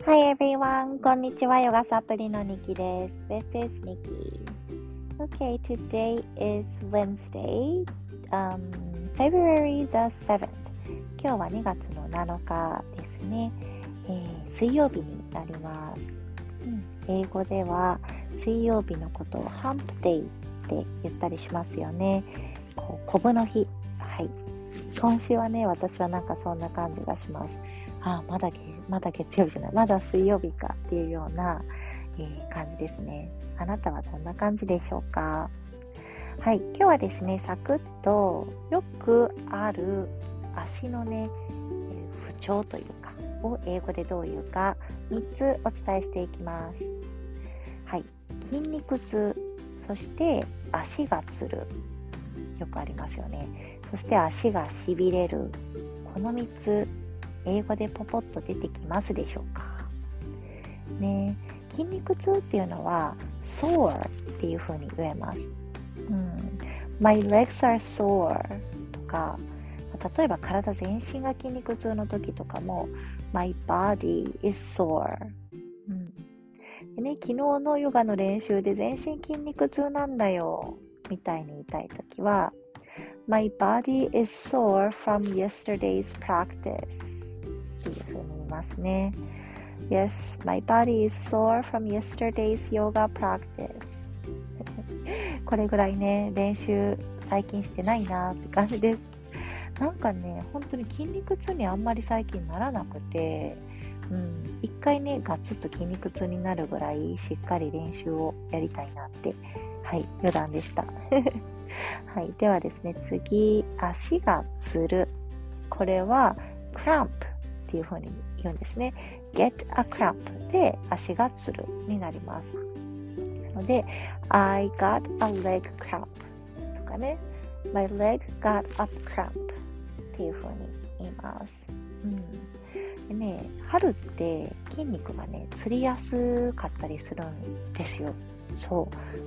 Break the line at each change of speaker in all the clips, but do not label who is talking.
Hi everyone, こんにちは。ヨガサプリのニキです。This is Nikki. Okay, today is Wednesday, February the 7th. 今日は2月の7日ですね。水曜日になります。英語では水曜日のことを Hump Day って言ったりしますよね。コブの日。はい。今週はね、私はなんかそんな感じがします。まだ月曜日じゃない、まだ水曜日かっていうような、感じですね。あなたはどんな感じでしょうか？はい、今日はですね、サクッとよくある足のね、不調というか、を英語でどういうか3つお伝えしていきます。はい、筋肉痛、そして足がつる、よくありますよね。そして足がしびれる、この3つ英語でポポッと出てきますでしょうかね。筋肉痛っていうのは sore っていう風に言えます。My legs are sore とか、例えば体全身が筋肉痛の時とかも My body is sore、でね、昨日のヨガの練習で全身筋肉痛なんだよみたいに言いたい時は My body is sore from yesterday's practiceっていう風に言いますね。Yes, my body is sore from yesterday's yoga practice これぐらいね、練習最近してないなって感じです。なんかね、本当に筋肉痛にあんまり最近ならなくて、一回ね、ガツッと筋肉痛になるぐらいしっかり練習をやりたいなって、はい、余談でした。はい、ではですね、次、足がつる。これは crampっていう風に言うんですね。get a cramp で足がつるになります。なので I got a leg cramp とかね My leg got a cramp っていう風に言います。でね、春って筋肉がねつりやすかったりするんですよ。そう、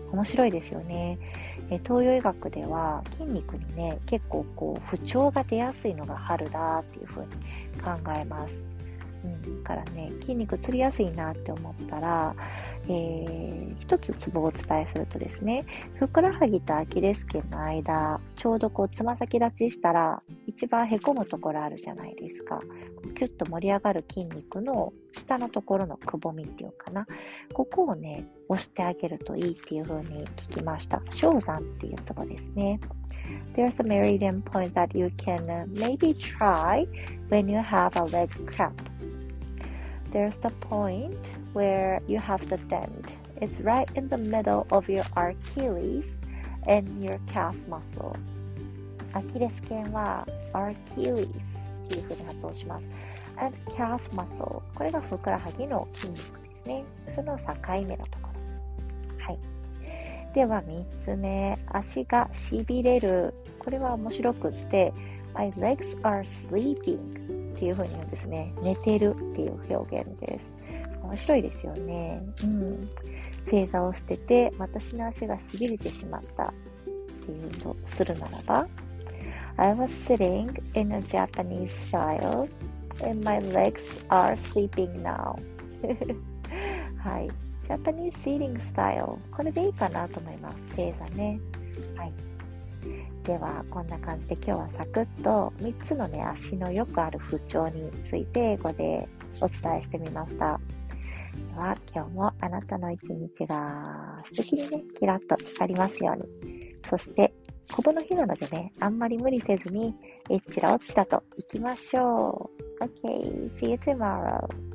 面白いですよね。東洋医学では筋肉にね結構不調が出やすいのが春だっていう風に考えます。だからね、筋肉つりやすいなって思ったら、一つツボをお伝えするとですね、ふくらはぎとアキレス腱の間、ちょうどつま先立ちしたら、一番へこむところあるじゃないですか。キュッと盛り上がる筋肉の下のところのくぼみっていうかな。ここをね、押してあげるといいっていう風に聞きました。小山っていうところですね。There's a meridian point that you can maybe try when you have a leg cramp.There's the point where you have the dent. It's right in the middle of your Achilles and your calf muscle. アキレス腱は Achilles っていう風に発音します。and calf muscle これがふくらはぎの筋肉ですね。その境目のところ。はい。では3つ目、足がしびれる。これは面白くって、My legs are sleepingっていう風に言うんですね。寝てるっていう表現です。面白いですよね。正座をしてて、私の足がしびれてしまったっていうとするならば、I was sitting in a Japanese style and my legs are sleeping now はい。Japanese sitting style これでいいかなと思います。正座ね。はい。ではこんな感じで今日はサクッと3つのね足のよくある不調について英語でお伝えしてみました。では今日もあなたの一日が素敵にねキラッと光りますように。そしてコブの日なのでねあんまり無理せずにえっちらおっちらと行きましょう。Okay, see you tomorrow.